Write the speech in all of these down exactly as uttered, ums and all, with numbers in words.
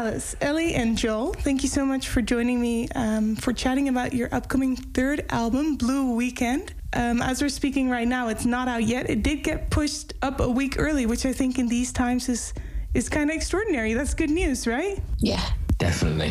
Alice, Ellie, and Joel, thank you so much for joining me um, for chatting about your upcoming third album, Blue Weekend. Um, as we're speaking right now, it's not out yet. It did get pushed up a week early, which I think in these times is is kind of extraordinary. That's good news, right? Yeah, definitely.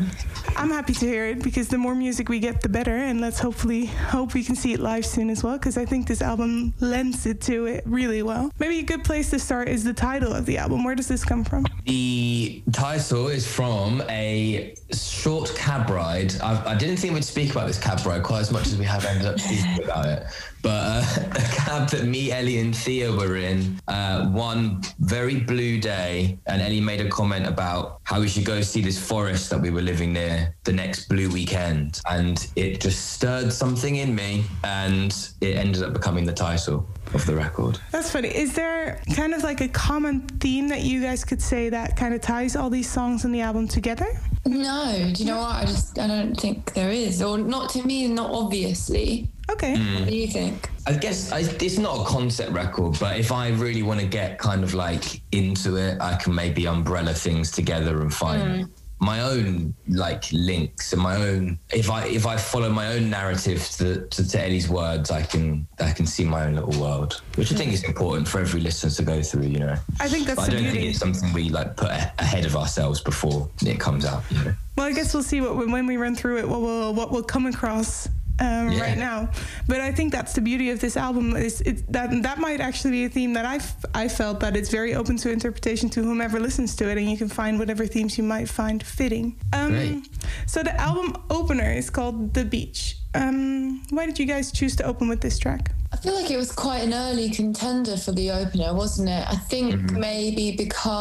I'm happy to hear it, because the more music we get, the better. And let's hopefully hope we can see it live soon as well, because I think this album lends it to it really well. Maybe a good place to start is the title of the album. Where does this come from? The title is from a short cab ride. I've, I didn't think we'd speak about this cab ride quite as much as we have ended up speaking about it. But uh, a cab that me, Ellie, and Thea were in uh, one very blue day, and Ellie made a comment about how we should go see this forest that we were living near the next blue weekend, and it just stirred something in me, and it ended up becoming the title of the record. That's funny. Is there kind of like a common theme that you guys could say that kind of ties all these songs in the album together? No, do you know what? I just I don't think there is, or not to me, not obviously. Okay. Mm. What do you think? I guess I, it's not a concept record, but if I really want to get kind of like into it, I can maybe umbrella things together and find mm. my own like links and my own. If I if I follow my own narrative to, to, to Ellie's words, I can I can see my own little world, which I think is important for every listener to go through. You know, I think that's. But the I don't beauty. think it's something we like put a- ahead of ourselves before it comes out. You know. Well, I guess we'll see what when we run through it. What will what will come across. Um, yeah. Right now, but I think that's the beauty of this album. Is it, that that might actually be a theme that I I felt that it's very open to interpretation to whomever listens to it, and you can find whatever themes you might find fitting. Um, Great. So the album opener is called The Beach. Um, why did you guys choose to open with this track? I feel like it was quite an early contender for the opener, wasn't it? I think mm-hmm. maybe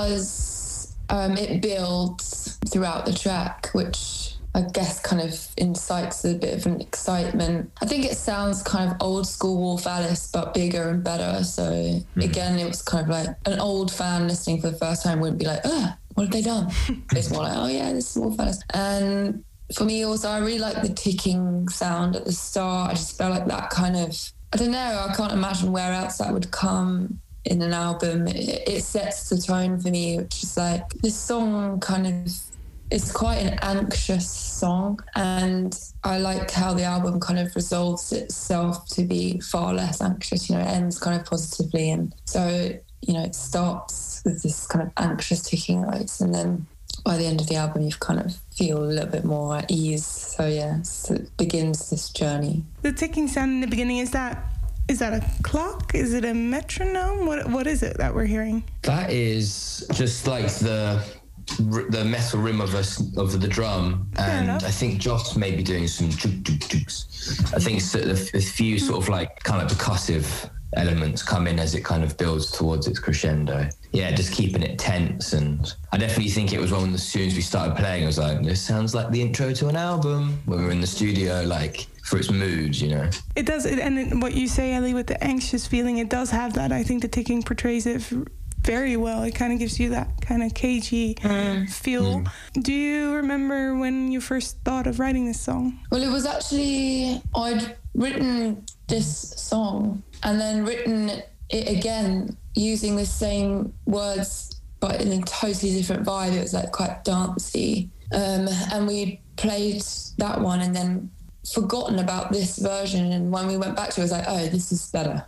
because um, it builds throughout the track, which I guess kind of incites a bit of an excitement. I think it sounds kind of old school Wolf Alice, but bigger and better. So mm-hmm. again, it was kind of like an old fan listening for the first time wouldn't be like, oh, what have they done? It's more like, oh yeah, this is Wolf Alice. And for me also, I really like the ticking sound at the start. I just felt like that kind of, I don't know, I can't imagine where else that would come in an album. It, it sets the tone for me, which is like, this song kind of, it's quite an anxious song, and I like how the album kind of resolves itself to be far less anxious. You know, it ends kind of positively, and so, you know, it starts with this kind of anxious ticking notes, and then by the end of the album you kind of feel a little bit more at ease. So yeah, so it begins this journey. The ticking sound in the beginning, is that is that a clock? Is it a metronome? What what is it that we're hearing? That is just like the the metal rim of us of the drum, and I think Joss may be doing some juk juk juks. I think it's a, a few sort of like kind of percussive elements come in as it kind of builds towards its crescendo. Yeah, just keeping it tense. And I definitely think it was one of the, as soon as we started playing, I was like, this sounds like the intro to an album when we were in the studio, like for its mood, you know. It does, and it, what you say, Ellie, with the anxious feeling, it does have that. I think the ticking portrays it very well. It kind of gives you that kind of cagey mm. feel. Mm. Do you remember when you first thought of writing this song? Well, it was actually, I'd written this song and then written it again using the same words but in a totally different vibe. It was like quite dancey. Um, and we played that one and then forgotten about this version, and when we went back to it, it was like, oh, this is better.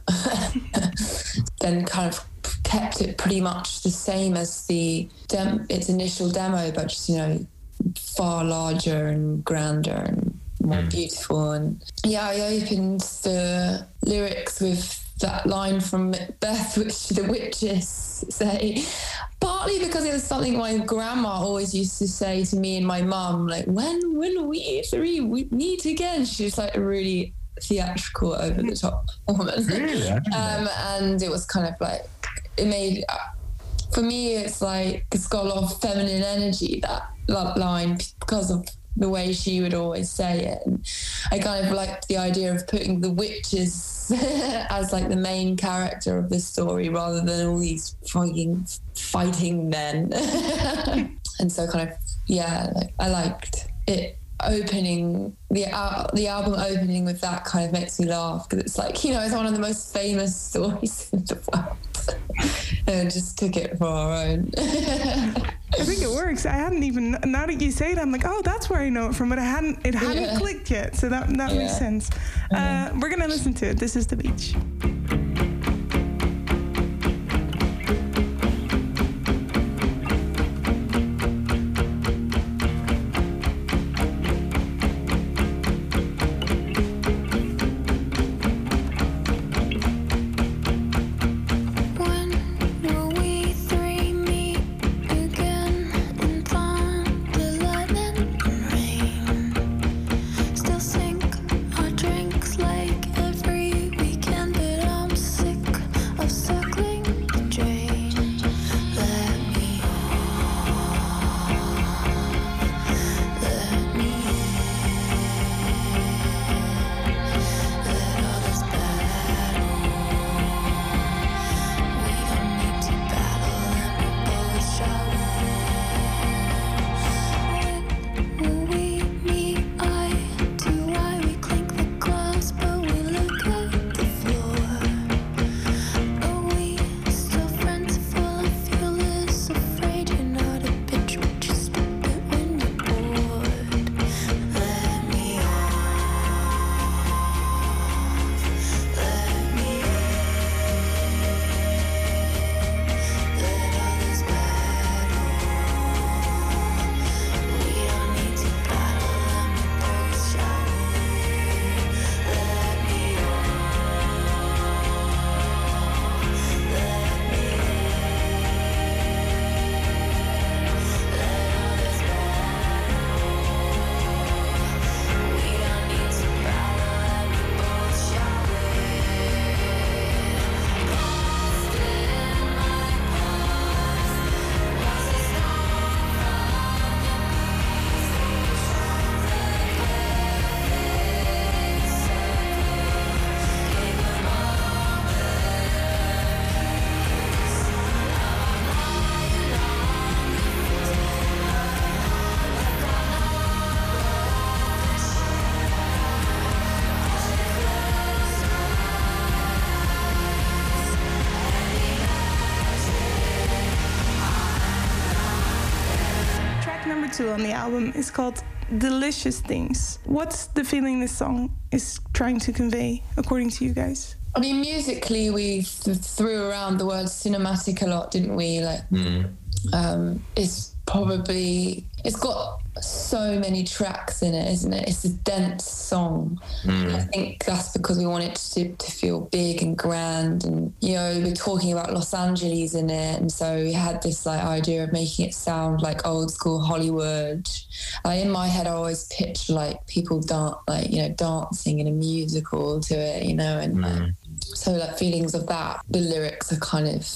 Then kind of kept it pretty much the same as the dem- its initial demo, but just, you know, far larger and grander and more mm. beautiful. And yeah, I opened the lyrics with that line from Macbeth, which the witches say, partly because it was something my grandma always used to say to me and my mum, like, when will we three we meet again? She was like a really theatrical, over the top woman. Really? um, and it was kind of like, it made, for me, it's like, it's got a lot of feminine energy, that, that line, because of the way she would always say it. And I kind of liked the idea of putting the witches as like the main character of the story rather than all these fucking fighting men. And so kind of, yeah, like, I liked it opening, the uh, the album opening with that kind of makes me laugh, because it's like, you know, it's one of the most famous stories in the world. And just took it for our own. I think it works. I hadn't even, now that you say it, I'm like, oh, that's where I know it from, but I hadn't, it hadn't yeah. clicked yet. So that, that yeah. makes sense. Mm-hmm. Uh, we're going to listen to it. This is The Beach. Two on the album is called Delicious Things. What's the feeling this song is trying to convey, according to you guys? I mean, musically, we th- threw around the word cinematic a lot, didn't we? Like, mm. um, it's probably, it's got so many tracks in it, isn't it? It's a dense song. Mm. I think that's because we want it to, to feel big and grand, and, you know, we're talking about Los Angeles in it, and so we had this like idea of making it sound like old school Hollywood. Like, in my head, I always picture like people dance, like, you know, dancing in a musical to it, you know, and mm. like, so like feelings of that. The lyrics are kind of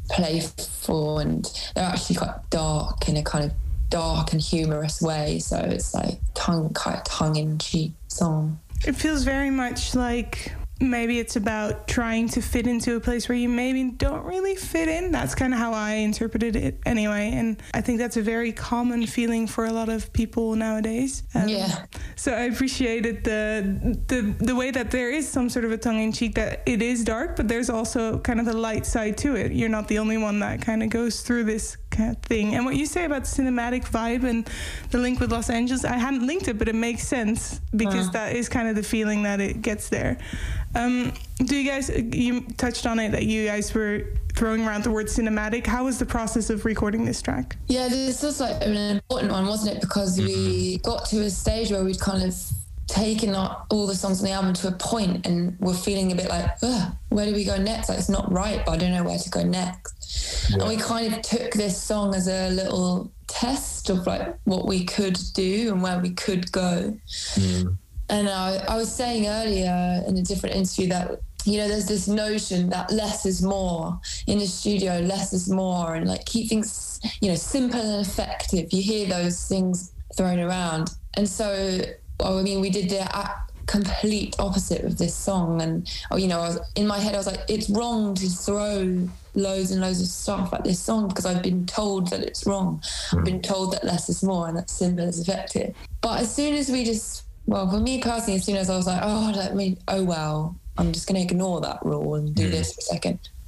playful and they're actually quite dark in a kind of dark and humorous way, so it's like tongue kind of tongue-in-cheek song. It feels very much like maybe it's about trying to fit into a place where you maybe don't really fit in. That's kind of how I interpreted it anyway, and I think that's a very common feeling for a lot of people nowadays. Um, yeah. So I appreciated the, the the way that there is some sort of a tongue-in-cheek, that it is dark, but there's also kind of a light side to it. You're not the only one that kind of goes through this kind of thing. And what you say about cinematic vibe and the link with Los Angeles, I hadn't linked it, but it makes sense because uh. that is kind of the feeling that it gets there. Um, do you guys, you touched on it that you guys were throwing around the word cinematic. How was the process of recording this track? Yeah, this was like an important one, wasn't it? Because mm-hmm. we got to a stage where we'd kind of taken all the songs on the album to a point and we're feeling a bit like, ugh, where do we go next? Like, it's not right, but I don't know where to go next. Yeah. And we kind of took this song as a little test of like what we could do and where we could go. Mm. And I, I was saying earlier in a different interview that, you know, there's this notion that less is more in the studio, less is more, and like keep things, you know, simple and effective. You hear those things thrown around. And so, well, I mean, we did the complete opposite of this song. And, you know, I was, in my head, I was like, it's wrong to throw loads and loads of stuff at this song because I've been told that it's wrong. Mm. I've been told that less is more and that simple is effective. But as soon as we just, well, for me personally, as soon as I was like, oh, let me, oh, well, I'm just going to ignore that rule and do mm. this for a second,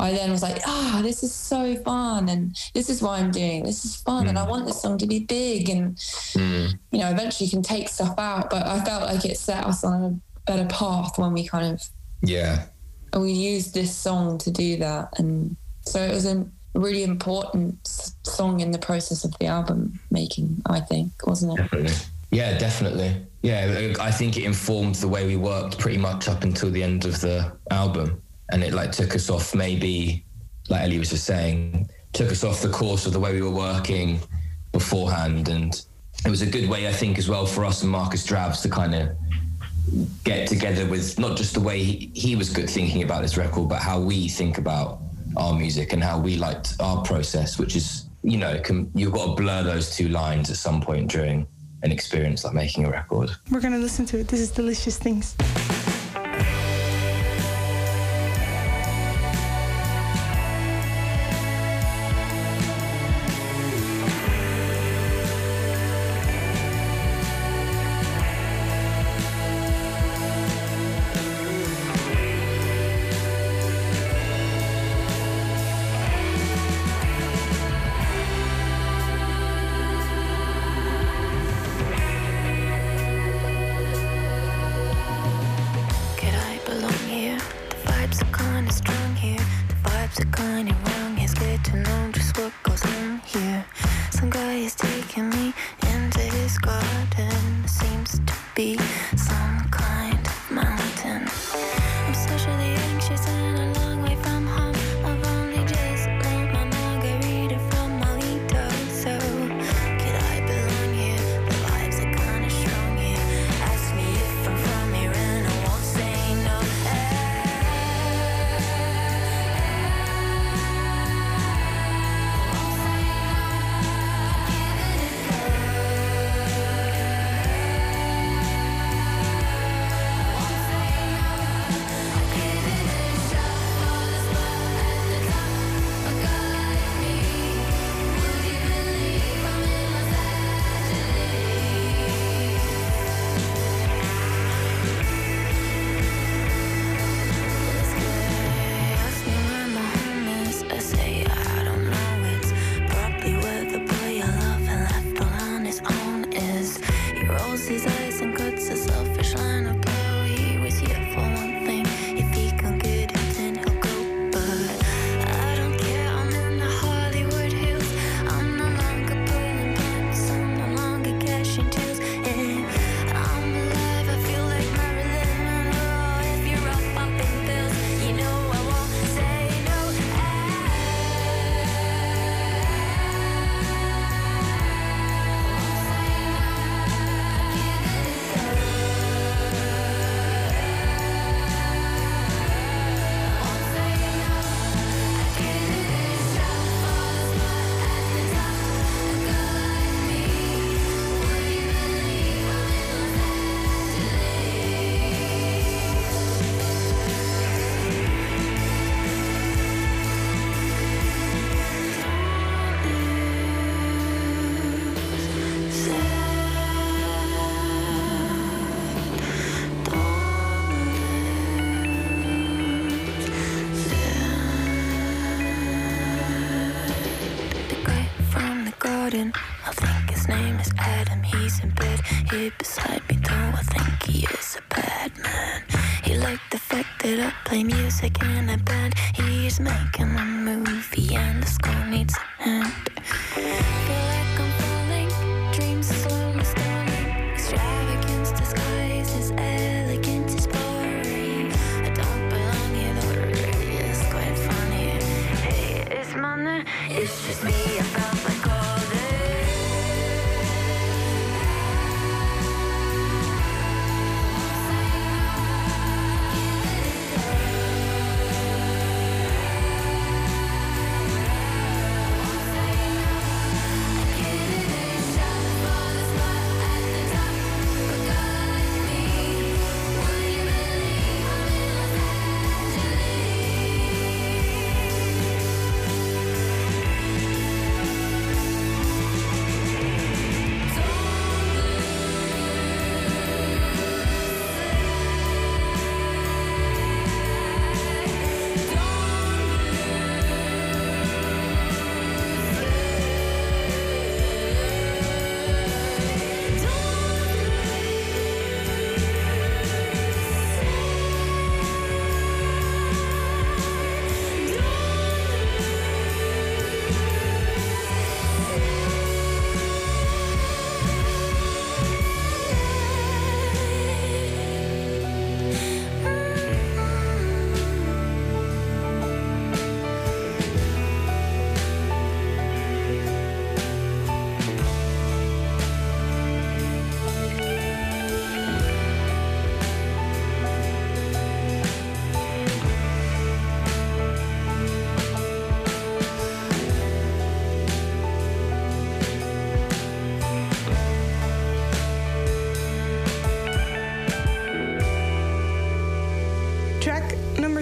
I then was like, ah, oh, this is so fun, and this is why I'm doing this is fun, mm. and I want this song to be big, and mm. you know, eventually you can take stuff out. But I felt like it set us on a better path when we kind of yeah we used this song to do that, and so it was a really important song in the process of the album making, I think, wasn't it? Definitely. Yeah, definitely. Yeah, I think it informed the way we worked pretty much up until the end of the album. And it like took us off maybe, like Ellie was just saying, took us off the course of the way we were working beforehand. And it was a good way, I think, as well for us and Marcus Drabs to kind of get together with not just the way he, he was good thinking about this record, but how we think about our music and how we liked our process, which is, you know, can, you've got to blur those two lines at some point during an experience like making a record. We're going to listen to it. This is Delicious Things. I think his name is Adam. He's in bed here beside me, though I think he is a bad man. He liked the fact that I play music in a band. He's making a movie and the score needs a hand. Feel like I'm falling, dreams are slowly stalling. Extravagance disguises elegance is boring. I don't belong here, though it really is quite funny. Hey, it's money, it's just me. I felt like all day.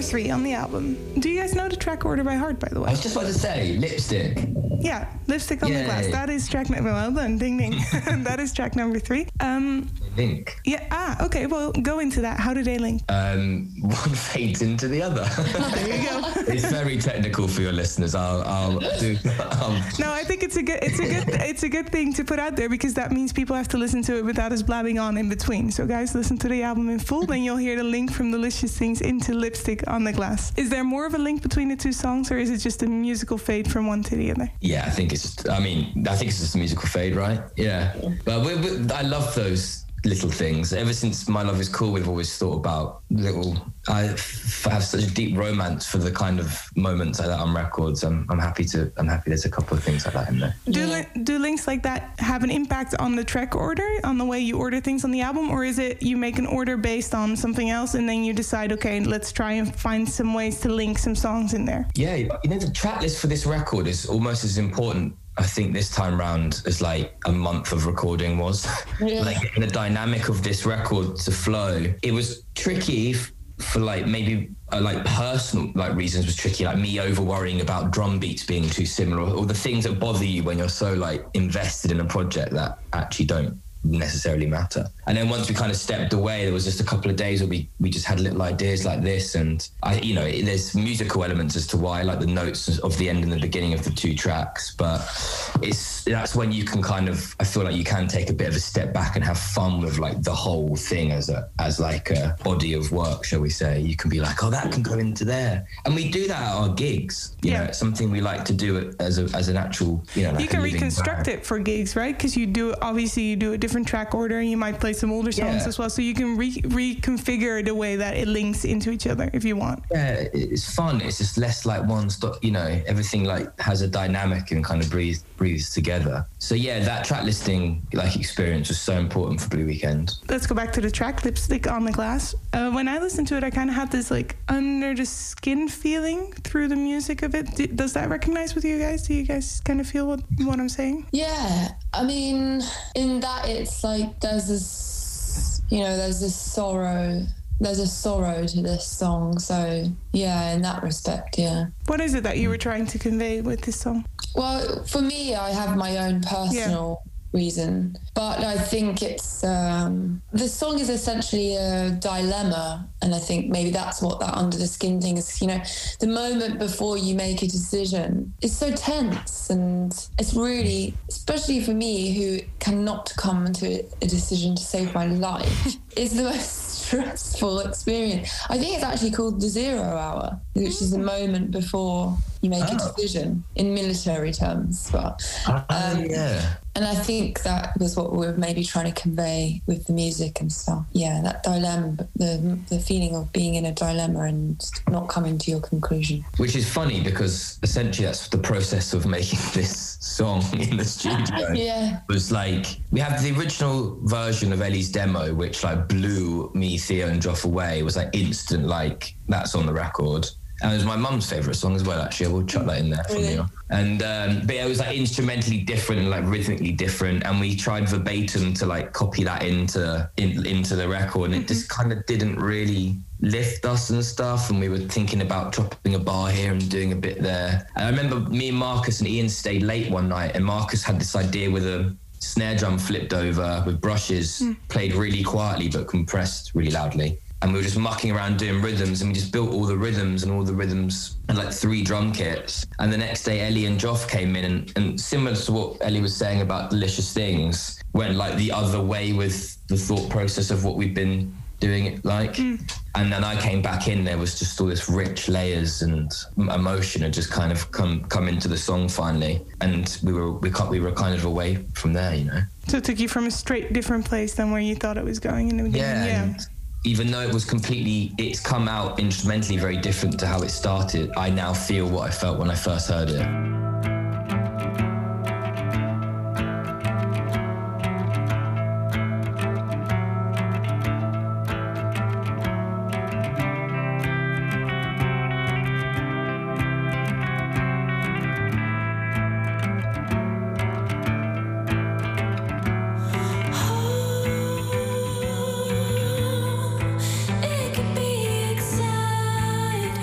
number three on the album. Do you guys know the track order by heart, by the way? I was just about to say, Lipstick. Yeah, Lipstick on Yay. the Glass. That is track number, well done, ding ding. That is track number three. Um, Link. yeah, ah, okay, well, go into that. How do they link? Um, one fades into the other. There you go. It's very technical for your listeners. I'll, I'll do. I'll... No, I think it's a good, it's a good, it's a good thing to put out there because that means people have to listen to it without us blabbing on in between. So, guys, listen to the album in full, then you'll hear the link from Delicious Things into Lipstick on the Glass. Is there more of a link between the two songs, or is it just a musical fade from one to the other? Yeah, I think it's just, I mean, I think it's just a musical fade, right? Yeah. But we, we, I love those little things. Ever since My Love Is Cool, we've always thought about little, I f- have such a deep romance for the kind of moments like that on records. I'm, I'm happy to, I'm happy there's a couple of things like that in there. Do, Yeah. li- do links like that have an impact on the track order, on the way you order things on the album, or is it you make an order based on something else and then you decide, okay, let's try and find some ways to link some songs in there? Yeah, you know, the track list for this record is almost as important, I think, this time round as like a month of recording was. Yeah. Like getting the dynamic of this record to flow. It was tricky f- for like maybe uh, like personal like reasons was tricky, like me over worrying about drum beats being too similar, or, or the things that bother you when you're so like invested in a project that actually don't necessarily matter. And then once we kind of stepped away, there was just a couple of days where we we just had little ideas like this, and I you know there's musical elements as to why I like the notes of the end and the beginning of the two tracks, but it's that's when you can kind of I feel like you can take a bit of a step back and have fun with like the whole thing as a as like a body of work, shall we say. You can be like, oh, that can go into there, and we do that at our gigs. You Yeah. know, it's something we like to do it as a as an actual you know like You can a living reconstruct band. it for gigs, right? Because you do, obviously, you do a different track order and you might play some older songs Yeah. as well. So you can re- reconfigure the way that it links into each other if you want. Yeah, it's fun. It's just less like one stop, you know, everything like has a dynamic and kind of breathes breathes together. So yeah, that track listing like experience was so important for Blue Weekend. Let's go back to the track, Lipstick on the Glass. Uh, when I listened to it, I kind of had this like under the skin feeling through the music of it. D- does that recognize with you guys? Do you guys kind of feel what, what I'm saying? Yeah, I mean, in that it's like there's this, you know, there's this sorrow, there's a sorrow to this song. So yeah, in that respect, yeah. What is it that you were trying to convey with this song? Well, for me, I have my own personal reason, but I think it's um, the song is essentially a dilemma, and I think maybe that's what that under the skin thing is. You know, the moment before you make a decision is so tense, and it's really, especially for me who cannot come to a decision to save my life, is the most stressful experience. I think it's actually called the zero hour, which is the moment before you make Oh. a decision in military terms. But um, yeah. and I think that was what we were maybe trying to convey with the music and stuff. Yeah, that dilemma, the the feeling of being in a dilemma and not coming to your conclusion. Which is funny because essentially that's the process of making this song in the studio. Yeah. Was like we have the original version of Ellie's demo, which like blew me, Theo, and Joff away. It was like instant, like that's on the record. And it was my mum's favourite song as well, actually. I will chuck that in there for Really? you. And um, but yeah, it was like instrumentally different and like rhythmically different. And we tried verbatim to like copy that into in, into the record, and it just kind of didn't really lift us and stuff. And we were thinking about dropping a bar here and doing a bit there. And I remember me and Marcus and Ian stayed late one night, and Marcus had this idea with a snare drum flipped over with brushes, played really quietly but compressed really loudly. And we were just mucking around doing rhythms, and we just built all the rhythms and all the rhythms and like three drum kits. And the next day, Ellie and Joff came in, and, and similar to what Ellie was saying about Delicious Things, went like the other way with the thought process of what we've been doing it like. Mm. And then I came back in, there was just all this rich layers and emotion had just kind of come come into the song finally. And we were we, we were kind of away from there, you know. So it took you from a straight different place than where you thought it was going in the beginning. Yeah. yeah. And even though it was completely, it's come out instrumentally very different to how it started, I now feel what I felt when I first heard it. It could be exciting.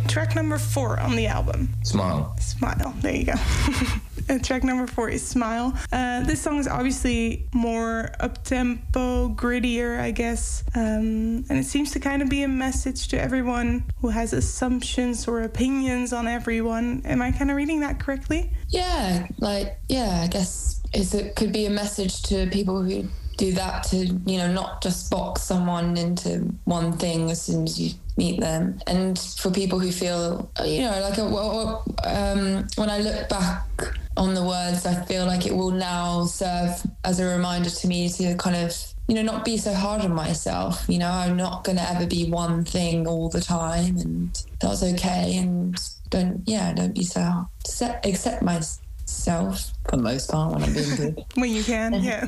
track number four on the album. Smile. Smile. There you go. Uh, track number four is Smile. Uh, this song is obviously more up-tempo, grittier, I guess. Um, and it seems to kind of be a message to everyone who has assumptions or opinions on everyone. Am I kind of reading that correctly? Yeah, like, yeah, I guess it's, it could be a message to people who do that, to, you know, not just box someone into one thing as soon as you meet them. And for people who feel, you know, like, a, well, um, when I look back on the words, I feel like it will now serve as a reminder to me to kind of, you know, not be so hard on myself. You know, I'm not going to ever be one thing all the time, and that's okay. And don't, yeah, don't be so hard. Accept, accept myself for the most part when I'm being good. When you can, yeah.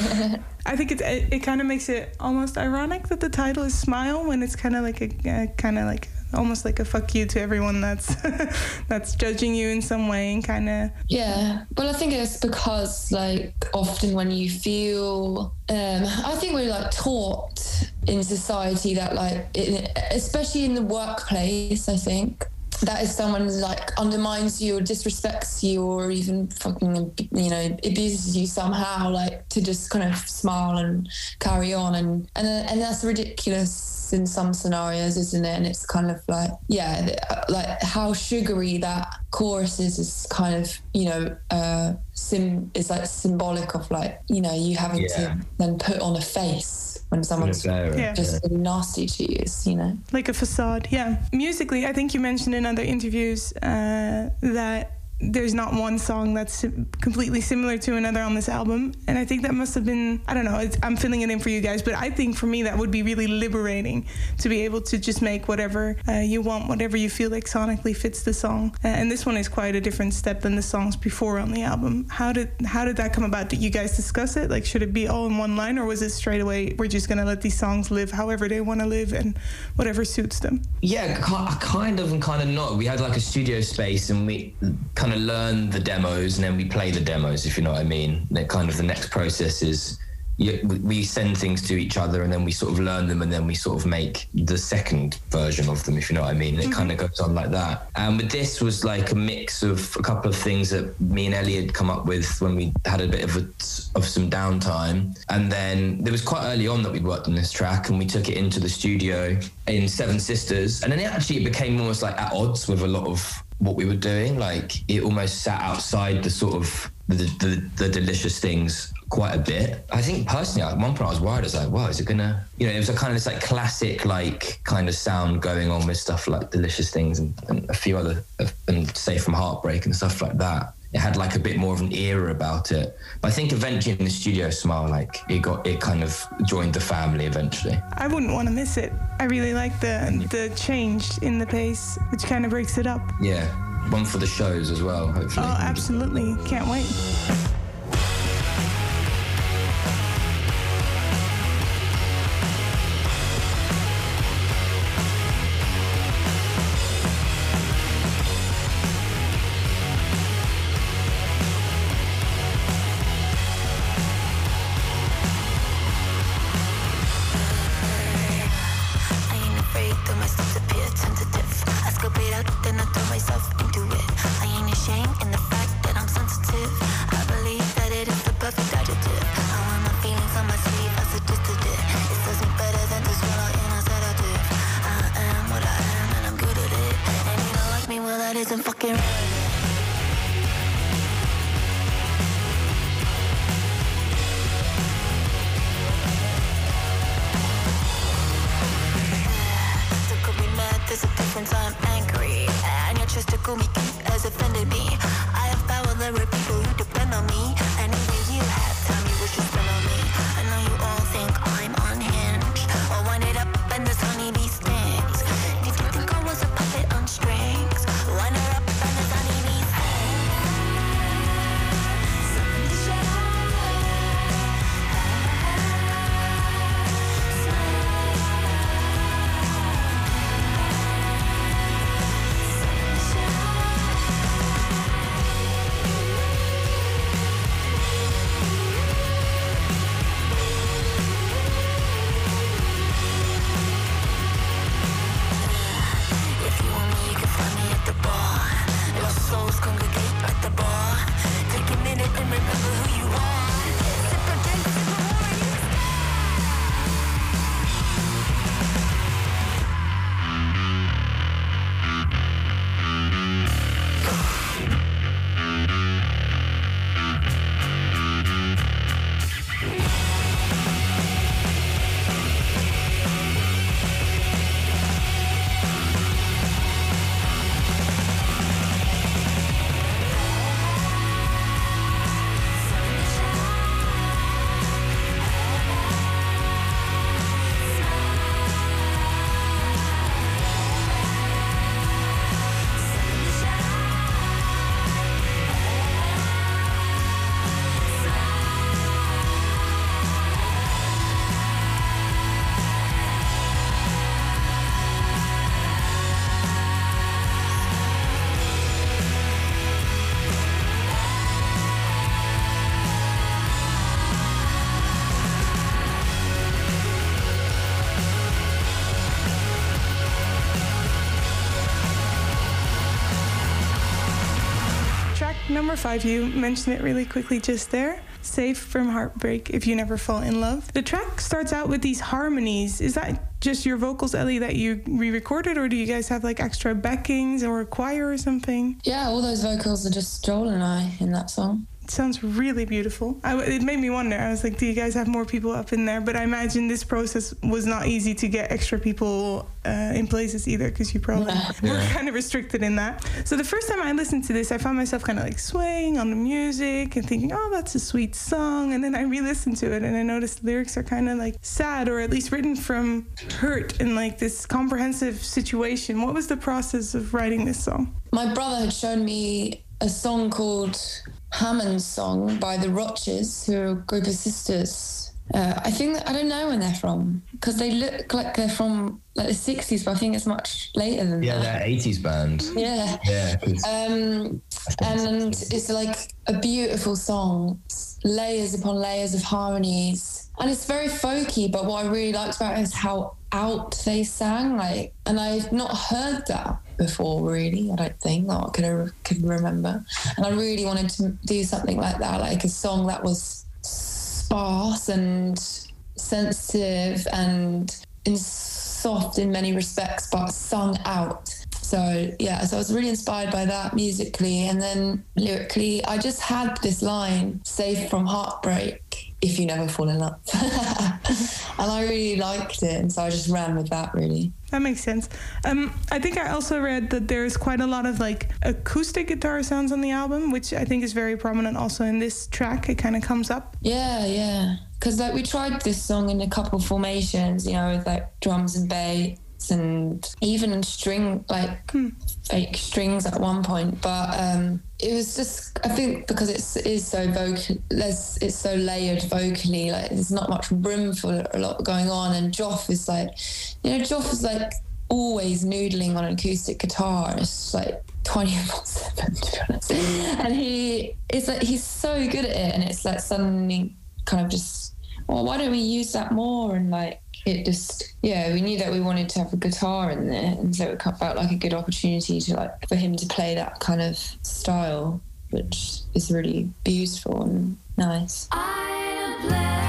I think it it, it kind of makes it almost ironic that the title is Smile, when it's kind of like a, a kind of like almost like a fuck you to everyone that's that's judging you in some way, and kind of. Yeah, well, I think it's because, like, often when you feel, um, I think we're like taught in society that, like, in, especially in the workplace, I think, that if someone like undermines you or disrespects you or even fucking, you know, abuses you somehow, like, to just kind of smile and carry on, and and and that's ridiculous in some scenarios, isn't it? And it's kind of like, yeah, like how sugary that chorus is is kind of, you know, uh, sim is like symbolic of, like, you know, you having yeah. to then put on a face when someone's yeah. just yeah. nasty to you, you know? Like a facade, yeah. Musically, I think you mentioned in other interviews uh, that there's not one song that's completely similar to another on this album. And I think that must have been, I don't know, it's, I'm filling it in for you guys, but I think for me that would be really liberating to be able to just make whatever uh, you want, whatever you feel like sonically fits the song. Uh, and this one is quite a different step than the songs before on the album. How did how did that come about? Did you guys discuss it? Like, should it be all in one line, or was it straight away, we're just going to let these songs live however they want to live and whatever suits them? Yeah, kind of and kind of not. We had like a studio space, and we kind of learn the demos, and then we play the demos, if you know what I mean. That kind of the next process is you, we send things to each other, and then we sort of learn them, and then we sort of make the second version of them, if you know what I mean. And it mm-hmm. kind of goes on like that. And with this was like a mix of a couple of things that me and Ellie had come up with when we had a bit of a, of some downtime. And then there was quite early on that we worked on this track, and we took it into the studio in Seven Sisters, and then it actually became almost like at odds with a lot of what we were doing. Like, it almost sat outside the sort of the, the, the delicious things quite a bit. I think personally, at one point I was worried. I was like, wow, is it gonna, you know, it was a kind of this like classic, like kind of sound going on with stuff like Delicious Things and, and a few other, and Safe from Heartbreak and stuff like that. It had like a bit more of an era about it. But I think eventually in the studio, Smile, like it got, it kind of joined the family eventually. I wouldn't want to miss it. I really like the the change in the pace, which kind of breaks it up. Yeah, one for the shows as well, hopefully. Oh, absolutely. Can't wait. Then I throw myself into it. I ain't ashamed in the fact that I'm sensitive. I believe number five, you mentioned it really quickly just there. Safe from heartbreak if you never fall in love. The track starts out with these harmonies. Is that just your vocals, Ellie, that you re-recorded, or do you guys have like extra backings or a choir or something? Yeah, all those vocals are just Joel and I in that song. It sounds really beautiful. I, it made me wonder. I was like, do you guys have more people up in there? But I imagine this process was not easy to get extra people uh, in places either, because you probably yeah. were yeah. kind of restricted in that. So the first time I listened to this, I found myself kind of like swaying on the music and thinking, oh, that's a sweet song. And then I re-listened to it and I noticed the lyrics are kind of like sad, or at least written from hurt and like this comprehensive situation. What was the process of writing this song? My brother had shown me a song called Hammond's Song by the Roches, who are a group of sisters. Uh, I think that, I don't know when they're from, because they look like they're from like the sixties, but I think it's much later than yeah, that. Yeah, they're eighties band. Yeah. Yeah. Um, and it's like a beautiful song, layers upon layers of harmonies. And it's very folky, but what I really liked about it is how out they sang. Like, and I've not heard that before, really, I don't think. Not I could, could remember. And I really wanted to do something like that, like a song that was sparse and sensitive and in soft in many respects, but sung out. So, yeah, so I was really inspired by that musically. And then lyrically, I just had this line, safe from heartbreak if you never fall in love. And I really liked it. And so I just ran with that, really. That makes sense. Um, I think I also read that there's quite a lot of like acoustic guitar sounds on the album, which I think is very prominent also in this track. It kind of comes up. Yeah, yeah. Because like we tried this song in a couple formations, you know, with like drums and bass and even string, like hmm. fake strings at one point. But um, it was just, I think because it's, it is so vocal, there's, it's so layered vocally, like there's not much room for a lot going on. And Joff is like, you know, Joff is like always noodling on an acoustic guitar. It's like twenty-four seven, to be honest. And he, it's like, he's so good at it. And it's like suddenly kind of just, well, why don't we use that more? And like, it just, yeah, we knew that we wanted to have a guitar in there, and so it felt like a good opportunity to like for him to play that kind of style, which is really beautiful and nice. I play.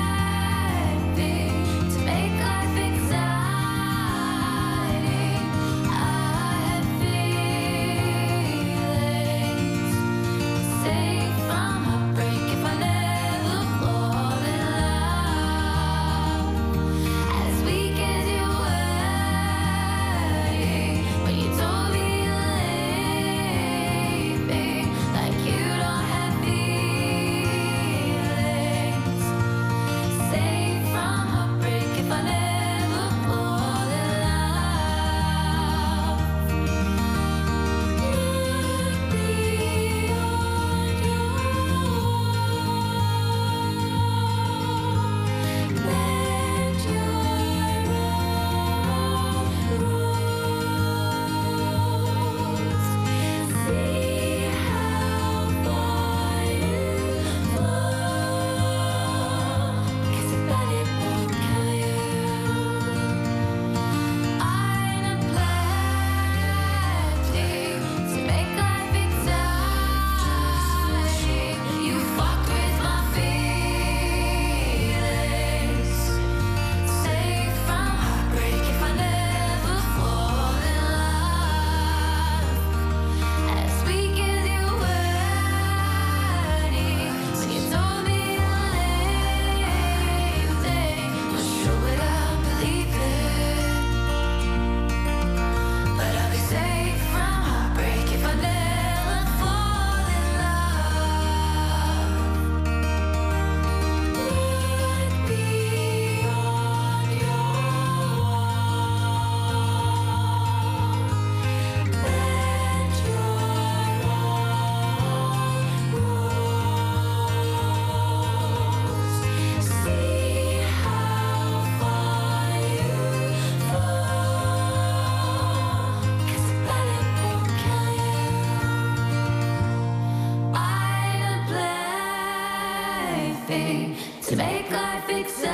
To make life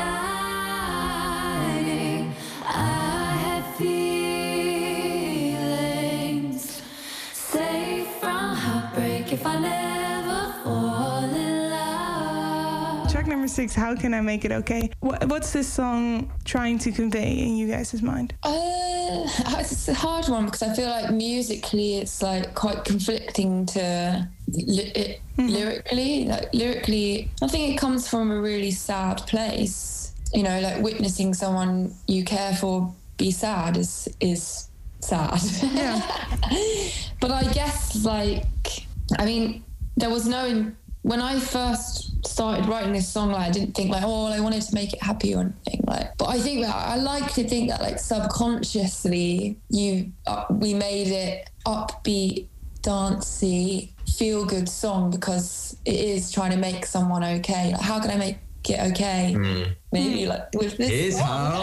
exciting, I have feelings safe from heartbreak if I let Six, How Can I Make It Okay? What, what's this song trying to convey in you guys' mind? Uh, it's a hard one because I feel like musically it's like quite conflicting to li- it, mm-hmm. lyrically. Like lyrically, I think it comes from a really sad place. You know, like witnessing someone you care for be sad is is sad. Yeah. But I guess like, I mean, there was no. When I first started writing this song, like, I didn't think like, oh, I wanted to make it happy or anything. Like, but I think that I like to think that like subconsciously, you uh, we made it upbeat, dancey, feel good song because it is trying to make someone okay. Like, how can I make it okay? Mm. Maybe like with this. Is how.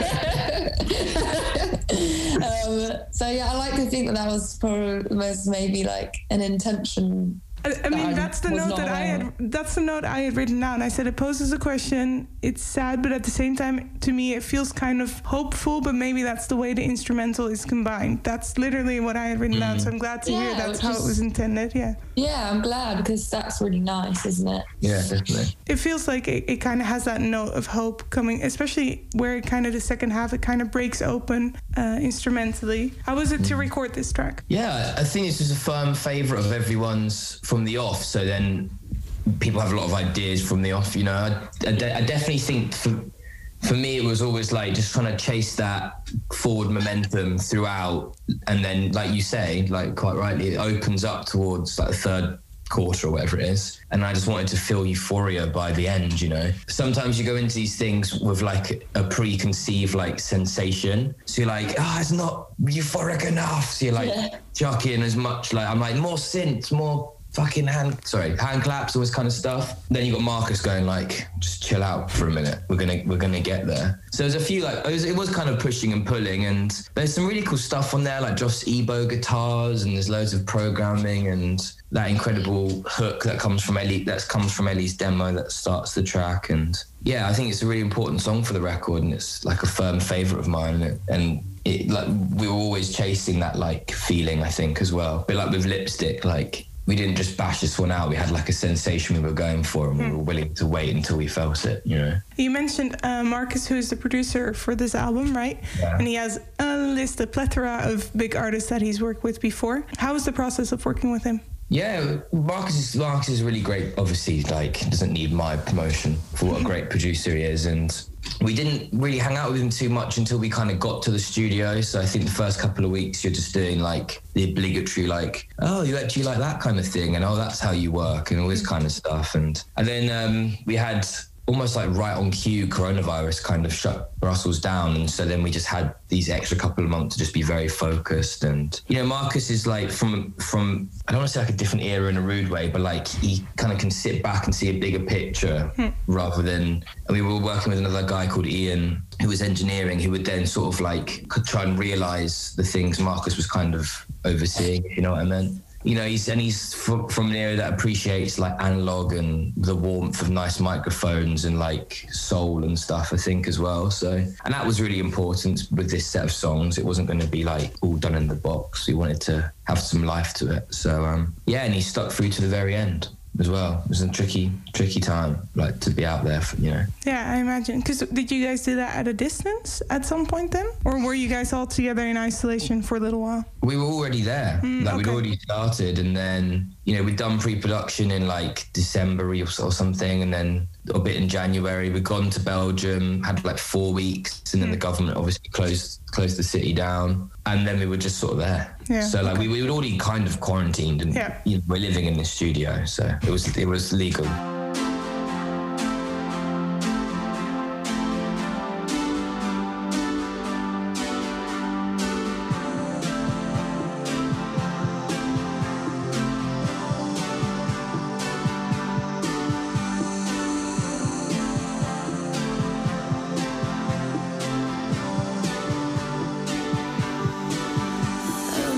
um, so yeah, I like to think that that was probably was maybe like an intention. I, I mean, that's the note that I had. That's the note I had written down. I said it poses a question. It's sad, but at the same time, to me, it feels kind of hopeful. But maybe that's the way the instrumental is combined. That's literally what I had written mm. down. So I'm glad to yeah, hear that's how is, it was intended. Yeah. Yeah, I'm glad because that's really nice, isn't it? Yeah, definitely. It feels like it, it kind of has that note of hope coming, especially where it kind of the second half it kind of breaks open uh, instrumentally. How was it mm. to record this track? Yeah, I think it's just a firm favourite of everyone's from the off, so then people have a lot of ideas from the off, you know. I, I, de- I definitely think for, for me it was always like just trying to chase that forward momentum throughout, and then like you say, like quite rightly, it opens up towards like the third quarter or whatever it is, and I just wanted to feel euphoria by the end, you know. Sometimes you go into these things with like a preconceived like sensation, so you're like, ah, oh, it's not euphoric enough, so you're like yeah. chucking in as much, like I'm like more synths, more fucking hand, sorry, hand claps, all this kind of stuff. Then you got Marcus going like, just chill out for a minute. We're gonna, we're gonna get there. So there's a few like, it was, it was kind of pushing and pulling, and there's some really cool stuff on there, like Joss Ebo guitars, and there's loads of programming and that incredible hook that comes from Ellie, that comes from Ellie's demo that starts the track. And yeah, I think it's a really important song for the record, and it's like a firm favorite of mine. And it, and it like we were always chasing that like feeling, I think, as well. But like with Lipstick, like, we didn't just bash this one out. We had like a sensation we were going for, and we were willing to wait until we felt it, you know. You mentioned uh, Marcus, who's the producer for this album, right? Yeah. And he has a list, a plethora of big artists that he's worked with before. How was the process of working with him? Yeah, Marcus is, Marcus is really great. Obviously, like, doesn't need my promotion for what a great producer he is. And we didn't really hang out with him too much until we kind of got to the studio. So I think the first couple of weeks you're just doing like the obligatory, like, oh, you actually like that kind of thing, and oh, that's how you work, and all this kind of stuff. And and then um, we had almost like right on cue, coronavirus kind of shut Brussels down. And so then we just had these extra couple of months to just be very focused. And, you know, Marcus is like from, from I don't want to say like a different era in a rude way, but like he kind of can sit back and see a bigger picture hmm. rather than, and we were working with another guy called Ian, who was engineering, who would then sort of like could try and realize the things Marcus was kind of overseeing, if you know what I meant. You know, he's and he's from, from an area that appreciates like analog and the warmth of nice microphones and like soul and stuff, I think, as well. So, and that was really important with this set of songs. It wasn't going to be like all done in the box. We wanted to have some life to it. So, um, yeah, and he stuck through to the very end as well. It was a tricky, tricky time, like to be out there, for, you know. Yeah, I imagine. Because did you guys do that at a distance at some point then? Or were you guys all together in isolation for a little while? We were already there. Mm, like okay. We'd already started, and then, you know, we'd done pre-production in like December or, or something, and then a bit in January. We'd gone to Belgium, had like four weeks, and then mm. the government obviously closed closed the city down, and then we were just sort of there. Yeah, so like okay. we, we were already kind of quarantined, and yeah. you know, we're living in this studio, so it was it was legal.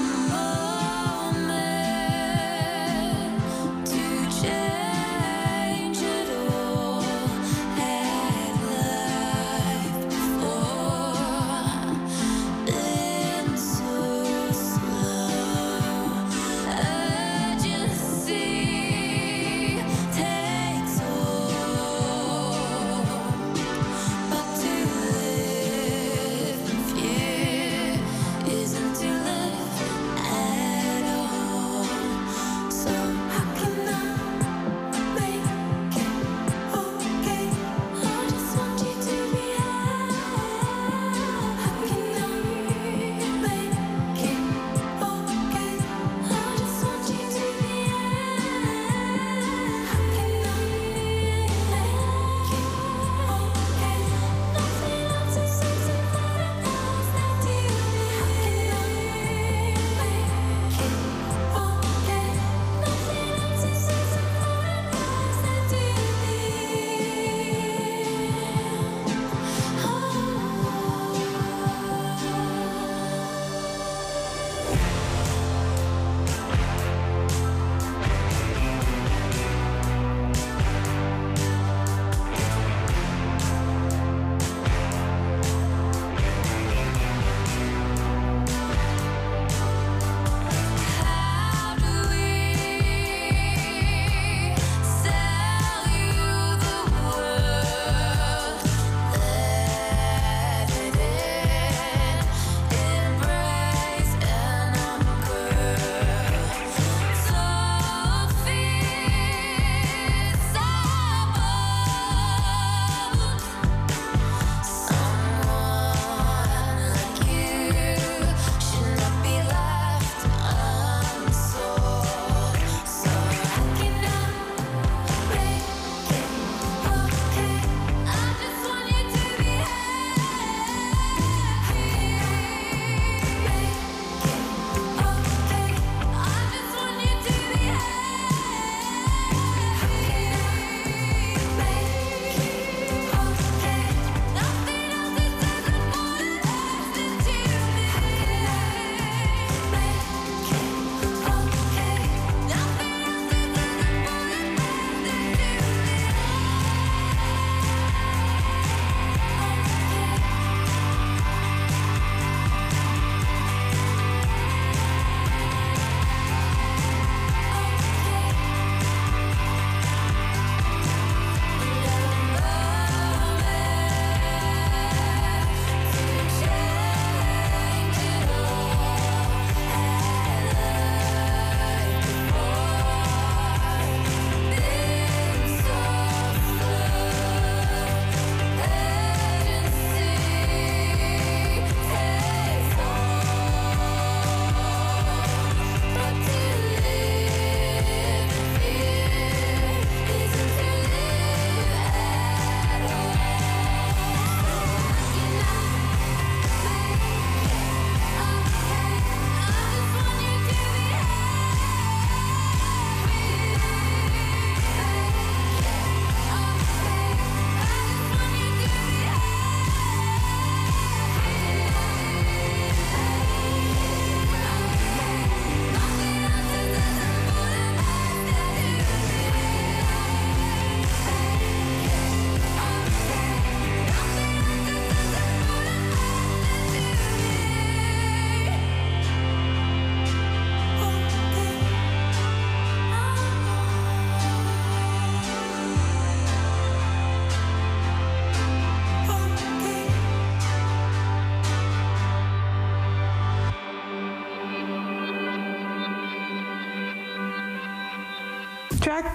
Change.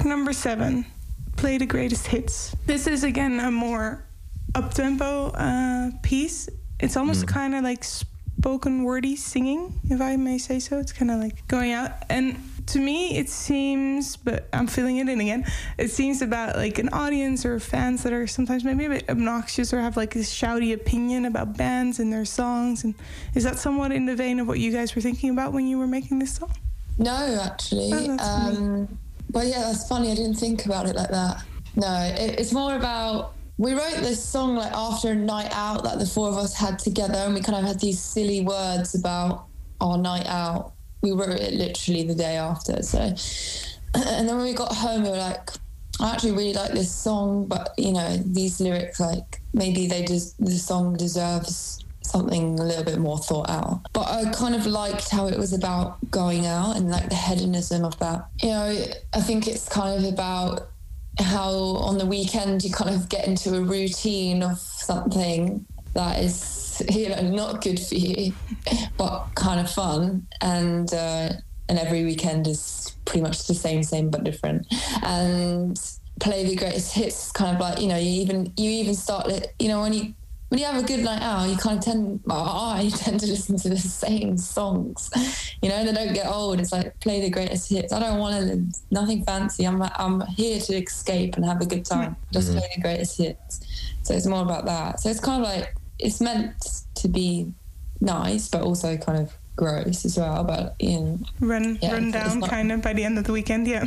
Track number seven, Play the Greatest Hits. This is again a more up-tempo uh, piece. It's almost mm. kind of like spoken wordy singing, if I may say so. It's kind of like going out. And to me, it seems, but I'm filling it in again, it seems about like an audience or fans that are sometimes maybe a bit obnoxious or have like this shouty opinion about bands and their songs. And is that somewhat in the vein of what you guys were thinking about when you were making this song? No, actually. Oh, um, but yeah, that's funny. I didn't think about it like that. No, it, it's more about, we wrote this song like after a night out that the four of us had together, and we kind of had these silly words about our night out. We wrote it literally the day after. So, and then when we got home, we were like, I actually really like this song, but you know, these lyrics, like maybe they just, the song deserves something a little bit more thought out. But I kind of liked how it was about going out and like the hedonism of that. You know, I think it's kind of about how on the weekend you kind of get into a routine of something that is, you know, not good for you, but kind of fun. And uh, and every weekend is pretty much the same, same but different. And Play the Greatest Hits, kind of like, you know, you even you even start it, you know, when you when you have a good night out, you kind of tend, well, I tend to listen to the same songs, you know, they don't get old. It's like, play the greatest hits. I don't want to, nothing fancy. I'm I'm here to escape and have a good time. Just mm-hmm. play the greatest hits. So it's more about that. So it's kind of like, it's meant to be nice, but also kind of gross as well. But you know, run yeah, run down not... kind of by the end of the weekend. Yeah.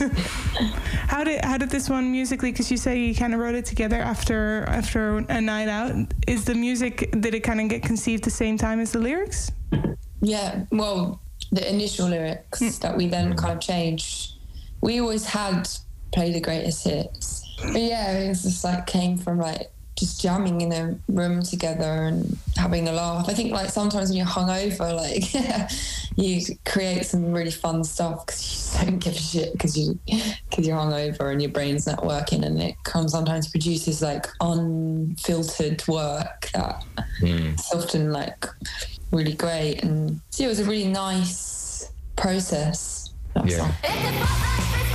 how did how did this one musically? Because you say you kind of wrote it together after after a night out. Is the music, did it kind of get conceived the same time as the lyrics? Yeah. Well, the initial lyrics mm. that we then kind of changed. We always had Play the Greatest Hits. But yeah, it was just like came from like just jamming in a room together and having a laugh. I think like sometimes when you're hungover, like you create some really fun stuff because you just don't give a shit because you because you're hungover and your brain's not working, and it can sometimes produces like unfiltered work that mm. is often like really great. And so it was a really nice process. That yeah. song.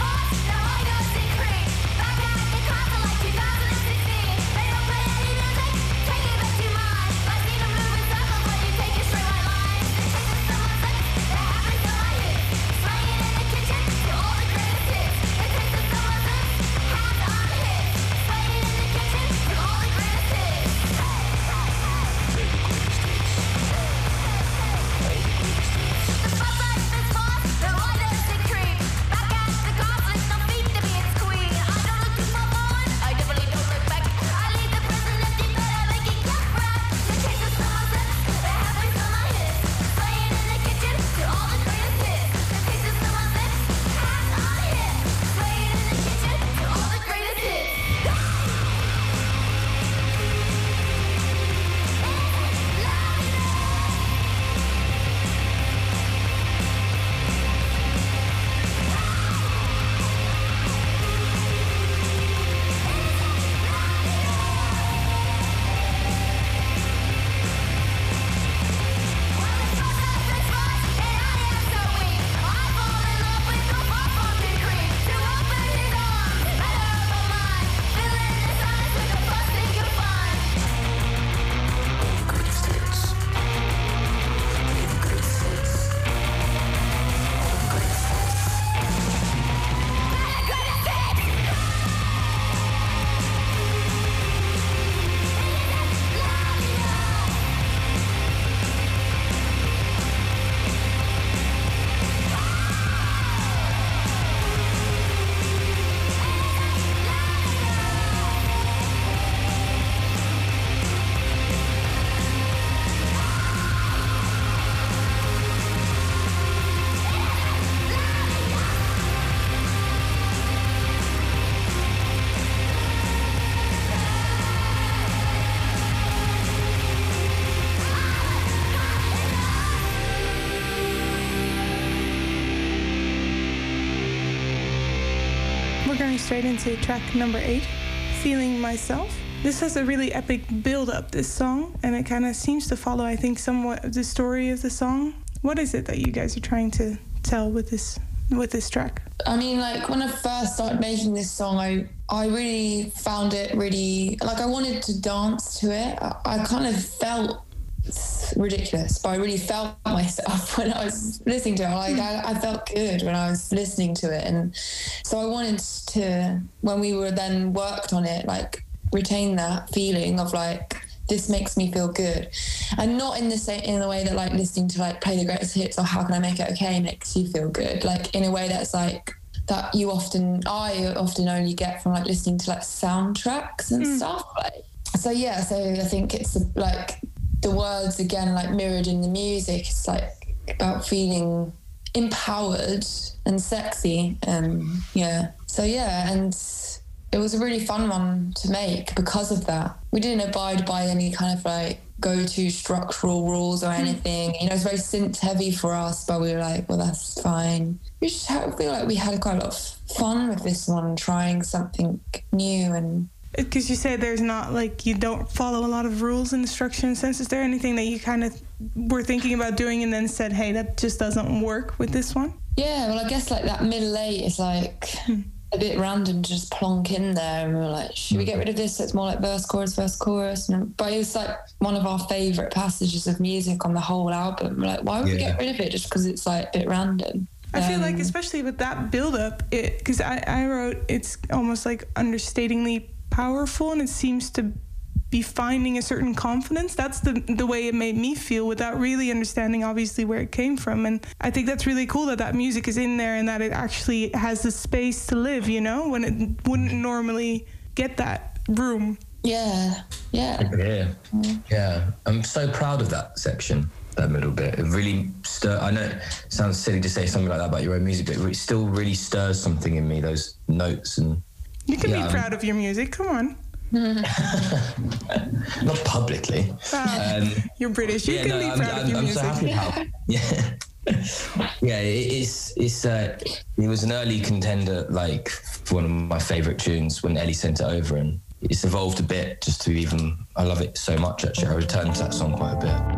Straight into track number eight, Feeling Myself. This has a really epic build-up, this song, and it kind of seems to follow, I think, somewhat of the story of the song. What is it that you guys are trying to tell with this with this track? I mean, like when I first started making this song, I I really found it really, like I wanted to dance to it. I, I kind of felt ridiculous, but I really felt myself when I was listening to it. Like I, I felt good when I was listening to it, and so I wanted to, when we were then worked on it, like retain that feeling of like, this makes me feel good, and not in the same in the way that like listening to like Play the Greatest Hits or How Can I Make It Okay makes you feel good, like in a way that's like that you often I often only get from like listening to like soundtracks and mm. stuff. Like, so yeah, so I think it's like the words again like mirrored in the music. It's like about feeling empowered and sexy, and yeah. So yeah, and it was a really fun one to make because of that. We didn't abide by any kind of like go-to structural rules or anything. You know, it's very synth heavy for us, but we were like, well, that's fine. We just feel like we had quite a lot of fun with this one, trying something new. And because you say there's not like, you don't follow a lot of rules in the structure and sense. Is there anything that you kind of were thinking about doing and then said, hey, that just doesn't work with this one? Yeah, well, I guess like that middle eight is like a bit random to just plonk in there, and we were like, should we get rid of this so it's more like verse, chorus, verse, chorus? And, but it was like one of our favourite passages of music on the whole album. We're like, why would yeah. we get rid of it just because it's like a bit random? I feel um, like especially with that build-up, it because I, I wrote it's almost like understatingly powerful, and it seems to be finding a certain confidence. That's the the way it made me feel, without really understanding obviously where it came from. And I think that's really cool that that music is in there and that it actually has the space to live, you know, when it wouldn't normally get that room. Yeah, yeah. Yeah, yeah. I'm so proud of that section, that middle bit. It really stir. I know it sounds silly to say something like that about your own music, but it still really stirs something in me, those notes. And you can yeah, be proud I'm, of your music, come on. Not publicly. Uh, um, you're British. You yeah, can no, be proud I'm, of your I'm music. I'm so happy how. Yeah, yeah. It, it's it's. Uh, it was an early contender, like for one of my favourite tunes when Ellie sent it over, and it's evolved a bit just to even. I love it so much. Actually, I return to that song quite a bit.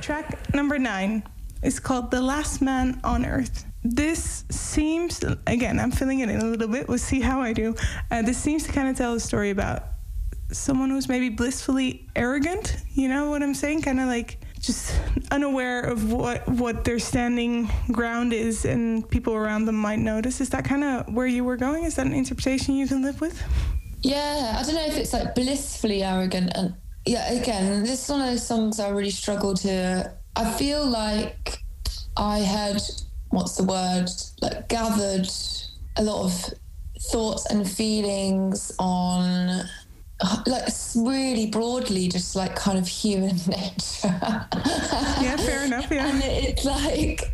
Track number nine is called The Last Man on Earth. This seems, again, I'm filling it in a little bit. We'll see how I do. Uh, this seems to kind of tell a story about someone who's maybe blissfully arrogant. You know what I'm saying? Kind of like just unaware of what, what their standing ground is and people around them might notice. Is that kind of where you were going? Is that an interpretation you can live with? Yeah, I don't know if it's like blissfully arrogant. And yeah, again, this is one of those songs I really struggle to... I feel like I had, what's the word, like gathered a lot of thoughts and feelings on... like really broadly just like kind of human nature. Yeah, fair enough, yeah. And it's like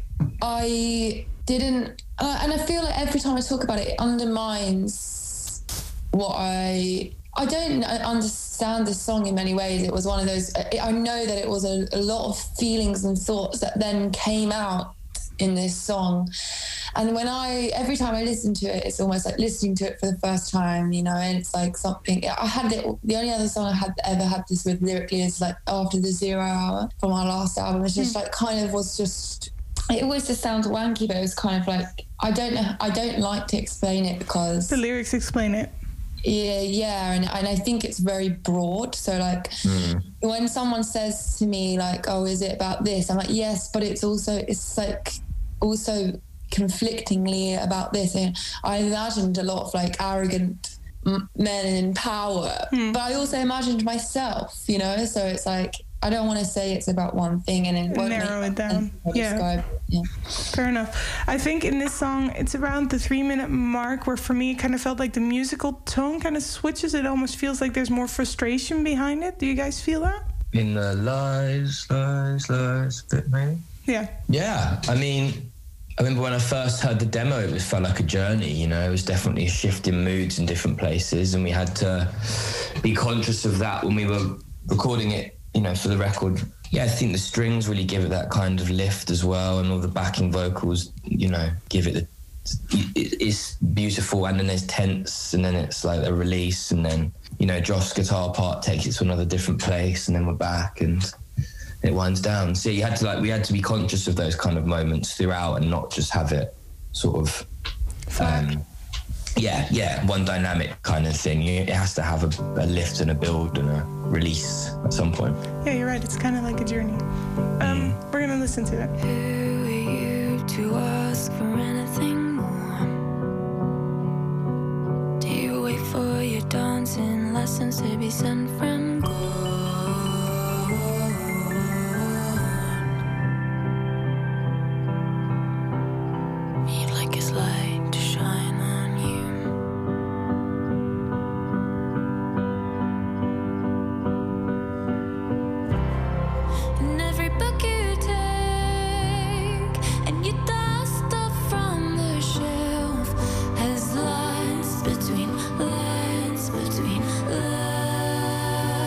I didn't uh, and I feel like every time I talk about it, it undermines what I I don't understand the song in many ways. It was one of those, I know that it was a, a lot of feelings and thoughts that then came out in this song. And when I, every time I listen to it, it's almost like listening to it for the first time, you know, and it's like something, I had it, the only other song I had ever had this with lyrically is like After the Zero Hour from our last album. It's just mm. like kind of was just, it always just sounds wanky, but it was kind of like, I don't know, I don't like to explain it because... The lyrics explain it. Yeah, yeah, and, and I think it's very broad. So like mm. when someone says to me like, oh, is it about this? I'm like, yes, but it's also, it's like also... conflictingly about this. And I imagined a lot of like arrogant m- men in power, hmm. but I also imagined myself, you know, so it's like I don't want to say it's about one thing and it won't narrow it down. Yeah. yeah Fair enough. I think in this song it's around the three minute mark where for me it kind of felt like the musical tone kind of switches. It almost feels like there's more frustration behind it. Do you guys feel that? In the lies, lies, lies bit maybe? Yeah. Yeah. I mean, I remember when I first heard the demo, it was felt like a journey, you know, it was definitely a shift in moods in different places, and we had to be conscious of that when we were recording it, you know, for the record. Yeah, I think the strings really give it that kind of lift as well, and all the backing vocals, you know, give it the, it's beautiful, and then there's tense, and then it's like a release, and then, you know, Josh's guitar part takes it to another different place, and then we're back, and... it winds down. So you had to like, we had to be conscious of those kind of moments throughout and not just have it sort of, um, yeah, yeah, one dynamic kind of thing. It has to have a, a lift and a build and a release at some point. Yeah, you're right. It's kind of like a journey. Um, mm. We're going to listen to it. Who are you to ask for anything more? Do you wait for your dancing lessons to be sent from God? Between lines, between lines.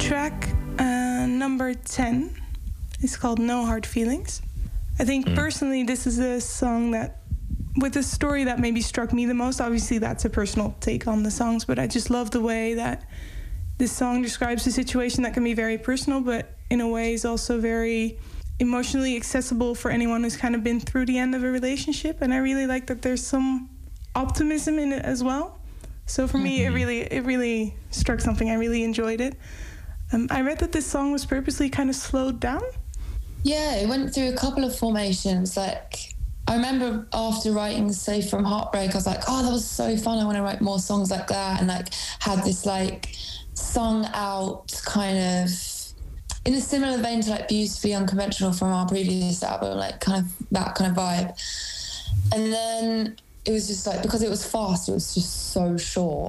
track uh, number ten is called No Hard Feelings. I think mm. personally this is a song that, with a story that maybe struck me the most. Obviously that's a personal take on the songs, but I just love the way that this song describes a situation that can be very personal, but in a way is also very emotionally accessible for anyone who's kind of been through the end of a relationship. And I really like that there's some optimism in it as well. So for mm-hmm. me, it really it really struck something. I really enjoyed it. Um, I read that this song was purposely kind of slowed down. Yeah, it went through a couple of formations. Like, I remember after writing Safe from Heartbreak, I was like, oh, that was so fun. I want to write more songs like that. And like had this like sung out kind of, in a similar vein to like Beautifully Unconventional from our previous album, like kind of that kind of vibe. And then it was just like, because it was fast, it was just so short.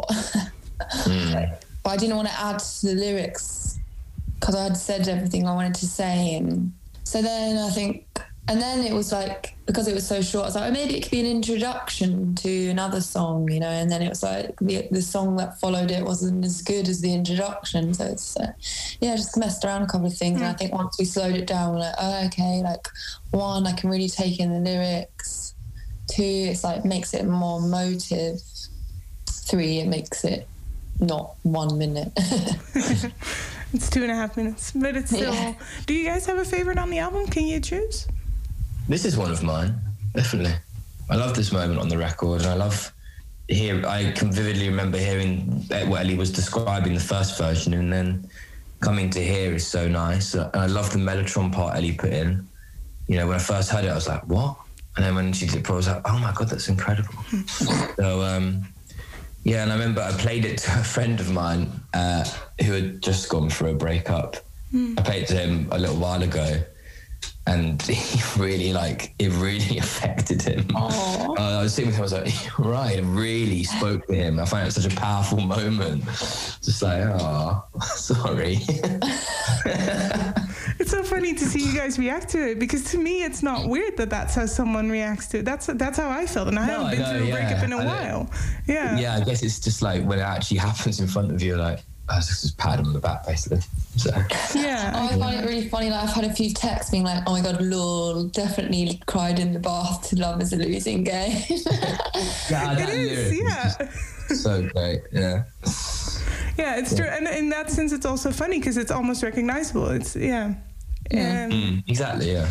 mm. But I didn't want to add to the lyrics because I had said everything I wanted to say. And so then I think, and then it was like, because it was so short, I was like, oh, maybe it could be an introduction to another song, you know, and then it was like the, the song that followed it wasn't as good as the introduction. So it's, uh, yeah, just messed around a couple of things. Mm. And I think once we slowed it down, we're like, oh, okay, like one, I can really take in the lyrics. Two, it's like makes it more motive. Three, it makes it not one minute. It's two and a half minutes, but it's still... Yeah. Do you guys have a favorite on the album? Can you choose? This is one of mine, definitely. I love this moment on the record, and I love hear. I can vividly remember hearing what Ellie was describing the first version, and then coming to here is so nice. And I love the Mellotron part Ellie put in. You know, when I first heard it, I was like, what? And then when she did it, I was like, oh my God, that's incredible. so, um, yeah, and I remember I played it to a friend of mine uh, who had just gone through a breakup. Mm. I played it to him a little while ago, and he really, like, it really affected him. Uh, I was sitting with him, I was like, you're right, it really spoke to him. I found it such a powerful moment. Just like, oh, sorry. It's so funny to see you guys react to it, because to me it's not weird that that's how someone reacts to it. That's that's how I felt, and I no, haven't been I know, through a yeah. breakup in a I while. Know. Yeah. Yeah, I guess it's just like when it actually happens in front of you, like, I was just pat him on the back, basically. So. Yeah. Oh, I find it really funny. Like, I've had a few texts being like, oh my God, lol, definitely cried in the bath to Love is a Losing Game. yeah, that it is, yeah. Is so great, yeah. Yeah, it's yeah. true. And in that sense, it's also funny because it's almost recognizable. It's, yeah. Yeah. Um, mm, exactly, yeah.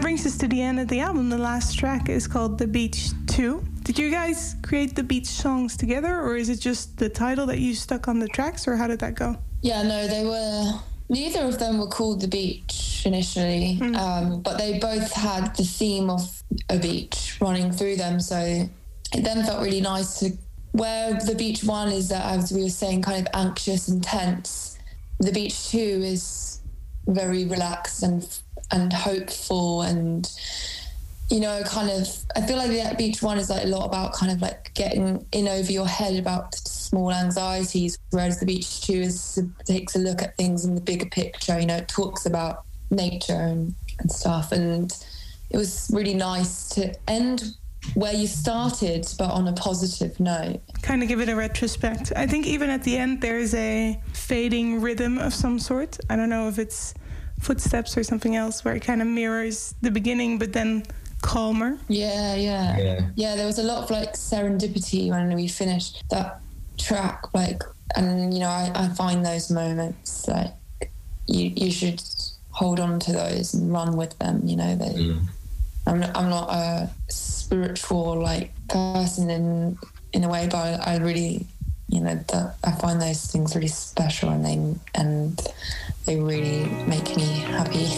brings us to the end of the album. The last track is called The Beach two. Did you guys create the beach songs together, or is it just the title that you stuck on the tracks, or how did that go? Yeah, no, they were... Neither of them were called The Beach initially, mm. um, but they both had the theme of a beach running through them. So it then felt really nice to... Where The Beach one is that, as we were saying, kind of anxious and tense, The Beach two is very relaxed and and hopeful and... You know, kind of, I feel like the Beach one is like a lot about kind of like getting in over your head about small anxieties, whereas the Beach two is takes a look at things in the bigger picture. You know, it talks about nature and, and stuff. And it was really nice to end where you started, but on a positive note. Kind of give it a retrospect. I think even at the end, there is a fading rhythm of some sort. I don't know if it's footsteps or something else, where it kind of mirrors the beginning, but then calmer. Yeah, yeah, yeah. Yeah, there was a lot of like serendipity when we finished that track. Like, and you know, I, I find those moments like you you should hold on to those and run with them. You know, they, mm. I'm not, I'm not a spiritual like person in in a way, but I, I really, you know, that I find those things really special, and they and they really make me happy.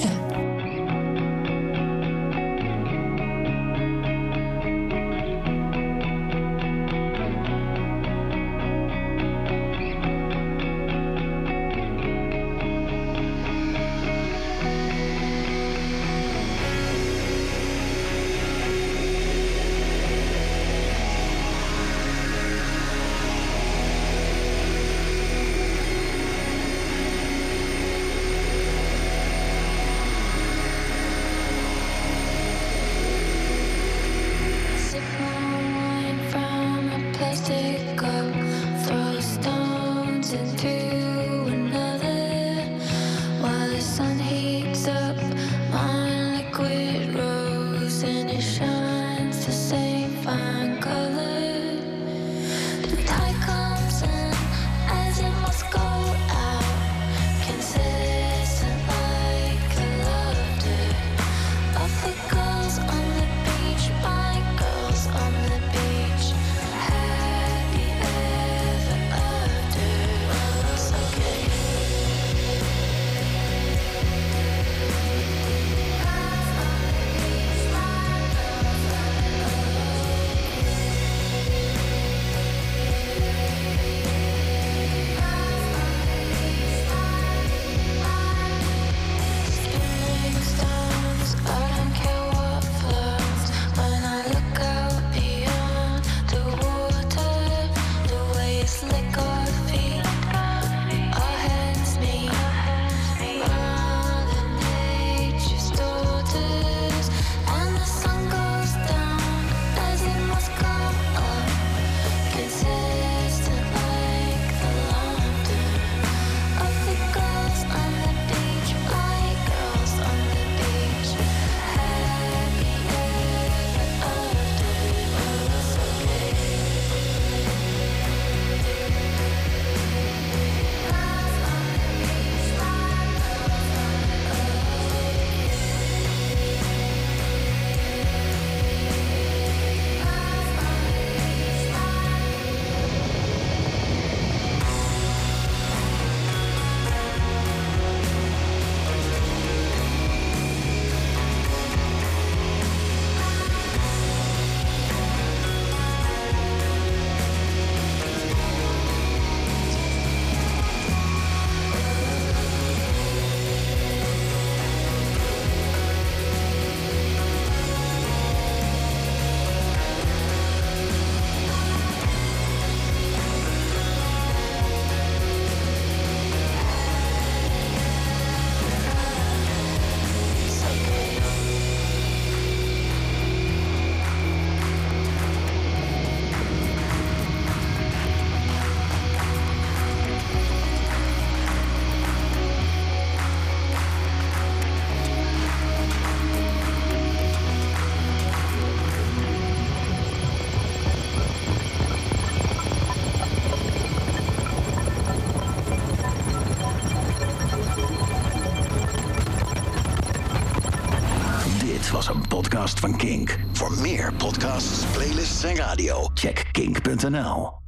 een podcast van Kink. Voor meer podcasts, playlists en radio, check kink punt n l.